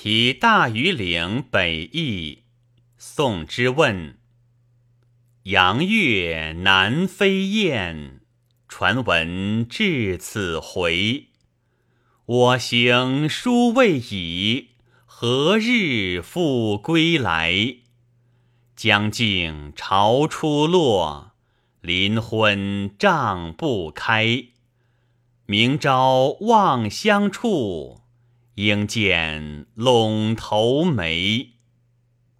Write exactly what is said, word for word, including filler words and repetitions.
题大庾岭北驿，宋之问。阳月南飞雁，传闻至此回。我行书未已，何日复归来？将尽朝初落，临昏帐不开。明朝望乡处，应见陇头梅。